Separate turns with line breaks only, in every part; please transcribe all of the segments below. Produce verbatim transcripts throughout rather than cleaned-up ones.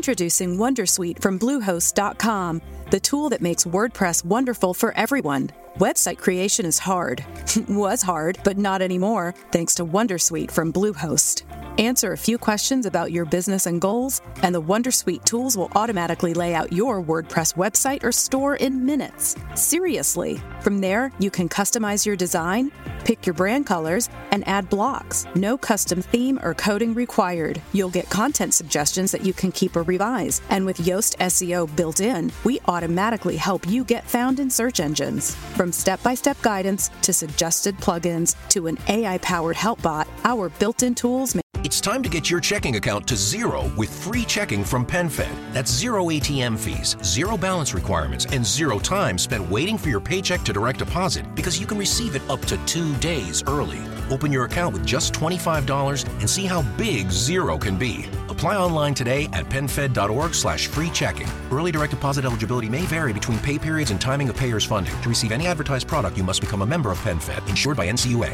Introducing Wondersuite from Bluehost dot com, the tool that makes WordPress wonderful for everyone. Website creation is hard. Was hard, but not anymore, thanks to Wondersuite from Bluehost. Answer a few questions about your business and goals, and the Wondersuite tools will automatically lay out your WordPress website or store in minutes. Seriously. From there, you can customize your design, pick your brand colors, and add blocks. No custom theme or coding required. You'll get content suggestions that you can keep or revise. And with Yoast S E O built in, we automatically help you get found in search engines. From step-by-step guidance to suggested plugins to an A I-powered help bot, our built-in tools make
It's time to get your checking account to zero with free checking from PenFed. That's zero A T M fees, zero balance requirements, and zero time spent waiting for your paycheck to direct deposit because you can receive it up to two days early. Open your account with just twenty-five dollars and see how big zero can be. Apply online today at penfed.org slash free checking. Early direct deposit eligibility may vary between pay periods and timing of payers' funding. To receive any advertised product, you must become a member of PenFed, insured by N C U A.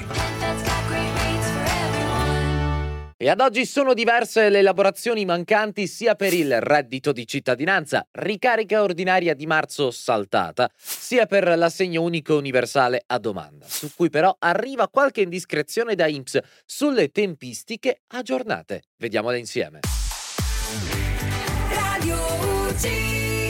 E ad oggi sono diverse le elaborazioni mancanti sia per il reddito di cittadinanza, ricarica ordinaria di marzo saltata, sia per l'assegno unico universale a domanda, su cui però arriva qualche indiscrezione da I N P S sulle tempistiche aggiornate. Vediamole insieme.
Radio U C.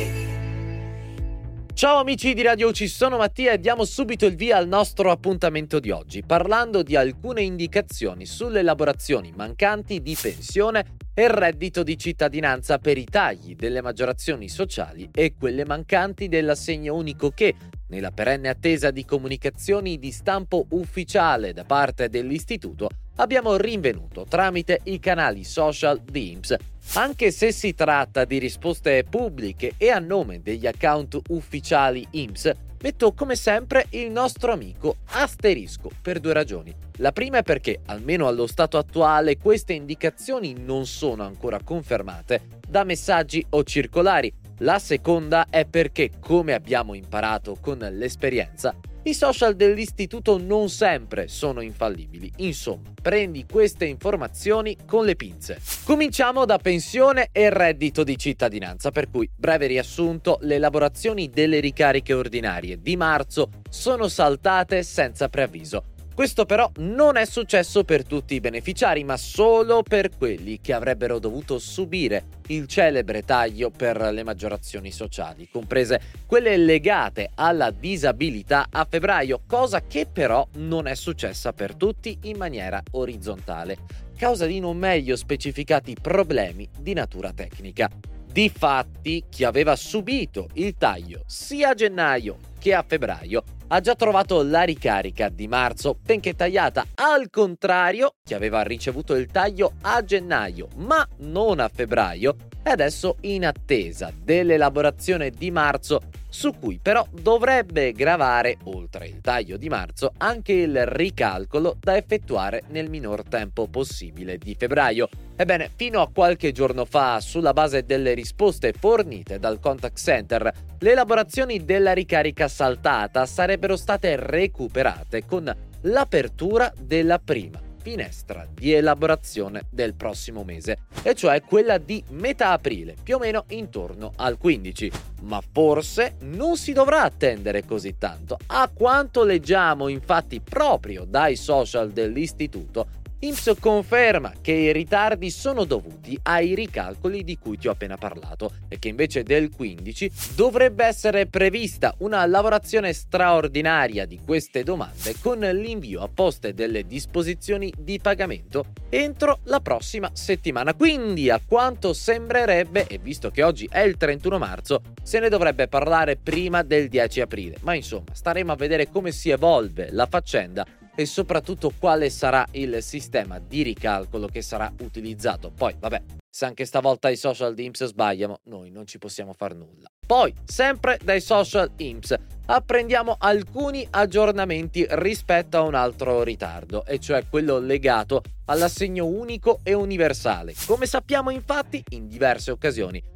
Ciao amici di Radio U C, sono Mattia e diamo subito il via al nostro appuntamento di oggi, parlando di alcune indicazioni sulle elaborazioni mancanti di pensione e reddito di cittadinanza per i tagli delle maggiorazioni sociali e quelle mancanti dell'assegno unico che, nella perenne attesa di comunicazioni di stampo ufficiale da parte dell'istituto, abbiamo rinvenuto tramite i canali social di I N P S. Anche se si tratta di risposte pubbliche e a nome degli account ufficiali I N P S, metto come sempre il nostro amico asterisco per due ragioni. La prima è perché, almeno allo stato attuale, queste indicazioni non sono ancora confermate da messaggi o circolari. La seconda è perché, come abbiamo imparato con l'esperienza, i social dell'istituto non sempre sono infallibili. Insomma, prendi queste informazioni con le pinze. Cominciamo da pensione e reddito di cittadinanza, per cui, breve riassunto, le elaborazioni delle ricariche ordinarie di marzo sono saltate senza preavviso. Questo però non è successo per tutti i beneficiari, ma solo per quelli che avrebbero dovuto subire il celebre taglio per le maggiorazioni sociali, comprese quelle legate alla disabilità a febbraio, cosa che però non è successa per tutti in maniera orizzontale, causa di non meglio specificati problemi di natura tecnica. Difatti, chi aveva subito il taglio sia a gennaio che a febbraio ha già trovato la ricarica di marzo, benché tagliata. Al contrario, chi aveva ricevuto il taglio a gennaio ma non a febbraio è adesso in attesa dell'elaborazione di marzo, su cui però dovrebbe gravare, oltre il taglio di marzo, anche il ricalcolo da effettuare nel minor tempo possibile di febbraio. Ebbene, fino a qualche giorno fa, sulla base delle risposte fornite dal contact center, le elaborazioni della ricarica saltata sarebbero state recuperate con l'apertura della prima finestra di elaborazione del prossimo mese, e cioè quella di metà aprile, più o meno intorno al quindici. Ma forse non si dovrà attendere così tanto. A quanto leggiamo infatti proprio dai social dell'istituto, I N P S conferma che i ritardi sono dovuti ai ricalcoli di cui ti ho appena parlato e che invece del quindici dovrebbe essere prevista una lavorazione straordinaria di queste domande con l'invio a poste delle disposizioni di pagamento entro la prossima settimana. Quindi, a quanto sembrerebbe, e visto che oggi è il trentuno marzo, se ne dovrebbe parlare prima del dieci aprile. Ma insomma, staremo a vedere come si evolve la faccenda e soprattutto quale sarà il sistema di ricalcolo che sarà utilizzato. Poi, vabbè, se anche stavolta i social di I N P S sbagliano, noi non ci possiamo far nulla. Poi, sempre dai social I N P S, apprendiamo alcuni aggiornamenti rispetto a un altro ritardo, e cioè quello legato all'assegno unico e universale. Come sappiamo infatti, in diverse occasioni,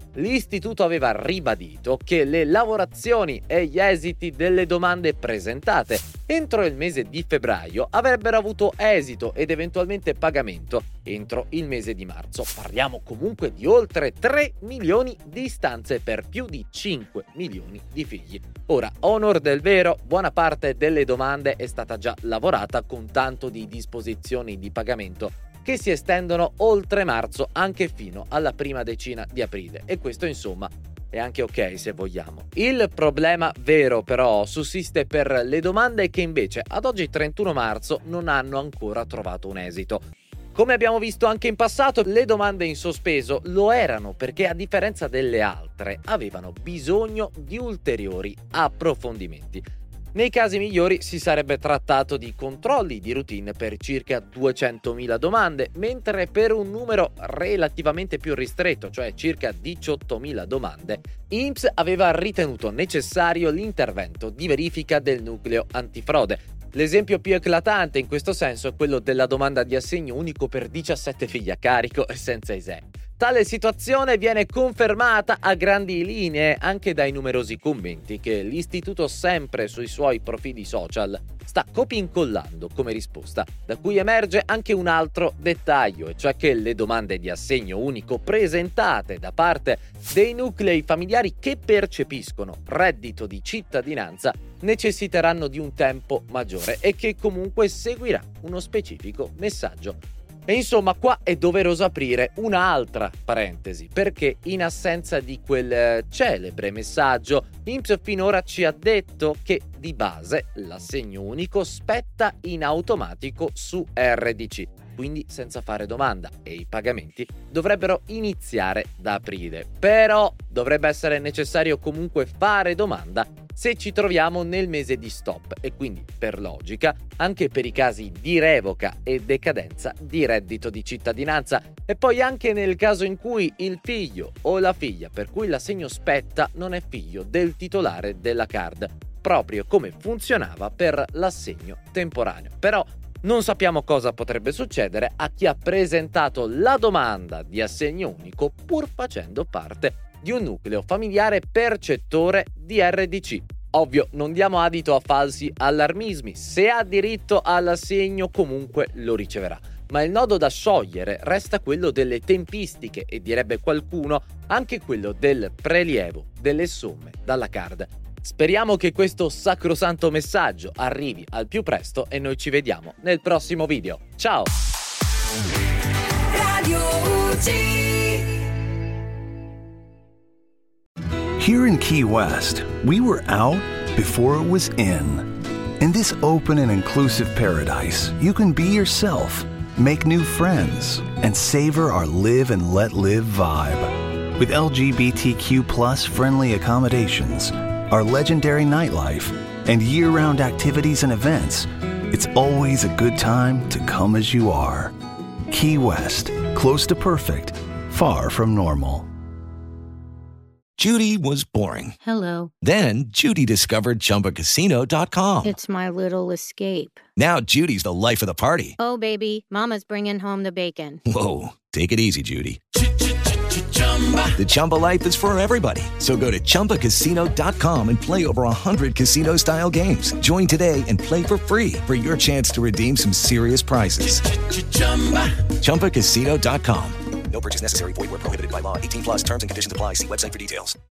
l'istituto aveva ribadito che le lavorazioni e gli esiti delle domande presentate entro il mese di febbraio avrebbero avuto esito ed eventualmente pagamento entro il mese di marzo. Parliamo comunque di oltre tre milioni di istanze per più di cinque milioni di figli. Ora, onor del vero, buona parte delle domande è stata già lavorata con tanto di disposizioni di pagamento che si estendono oltre marzo anche fino alla prima decina di aprile, e questo insomma è anche ok se vogliamo. Il problema vero però sussiste per le domande che invece ad oggi trentuno marzo non hanno ancora trovato un esito. Come abbiamo visto anche in passato, le domande in sospeso lo erano perché, a differenza delle altre, avevano bisogno di ulteriori approfondimenti. Nei casi migliori si sarebbe trattato di controlli di routine per circa duecentomila domande, mentre per un numero relativamente più ristretto, cioè circa diciottomila domande, I N P S aveva ritenuto necessario l'intervento di verifica del nucleo antifrode. L'esempio più eclatante in questo senso è quello della domanda di assegno unico per diciassette figli a carico e senza I S E E. Tale situazione viene confermata a grandi linee anche dai numerosi commenti che l'istituto, sempre sui suoi profili social, sta copia-incollando come risposta, da cui emerge anche un altro dettaglio, e cioè che le domande di assegno unico presentate da parte dei nuclei familiari che percepiscono reddito di cittadinanza necessiteranno di un tempo maggiore e che comunque seguirà uno specifico messaggio. E insomma, qua è doveroso aprire un'altra parentesi, perché in assenza di quel celebre messaggio, I N P S finora ci ha detto che di base l'assegno unico spetta in automatico su R D C, quindi senza fare domanda, e i pagamenti dovrebbero iniziare da aprile. Però dovrebbe essere necessario comunque fare domanda se ci troviamo nel mese di stop, e quindi, per logica, anche per i casi di revoca e decadenza di reddito di cittadinanza, e poi anche nel caso in cui il figlio o la figlia per cui l'assegno spetta non è figlio del titolare della card, proprio come funzionava per l'assegno temporaneo. Però non sappiamo cosa potrebbe succedere a chi ha presentato la domanda di assegno unico pur facendo parte di un nucleo familiare percettore di R D C. Ovvio, non diamo adito a falsi allarmismi: se ha diritto all'assegno comunque lo riceverà. Ma il nodo da sciogliere resta quello delle tempistiche e, direbbe qualcuno, anche quello del prelievo delle somme dalla card. Speriamo che questo sacrosanto messaggio arrivi al più presto e noi ci vediamo nel prossimo video. Ciao! Radio U G.
Here in Key West, we were out before it was in. In this open and inclusive paradise, you can be yourself, make new friends, and savor our live and let live vibe. With L G B T Q plus friendly accommodations, our legendary nightlife, and year-round activities and events, it's always a good time to come as you are. Key West, close to perfect, far from normal.
Judy was boring.
Hello.
Then Judy discovered Chumba Casino dot com.
It's my little escape.
Now Judy's the life of the party.
Oh, baby, mama's bringing home the bacon.
Whoa, take it easy, Judy. The Chumba life is for everybody. So go to Chumba Casino dot com and play over one hundred casino-style games. Join today and play for free for your chance to redeem some serious prizes. Chumba Casino dot com.
No purchase necessary. Void where prohibited by law. eighteen plus terms and conditions apply. See website for details.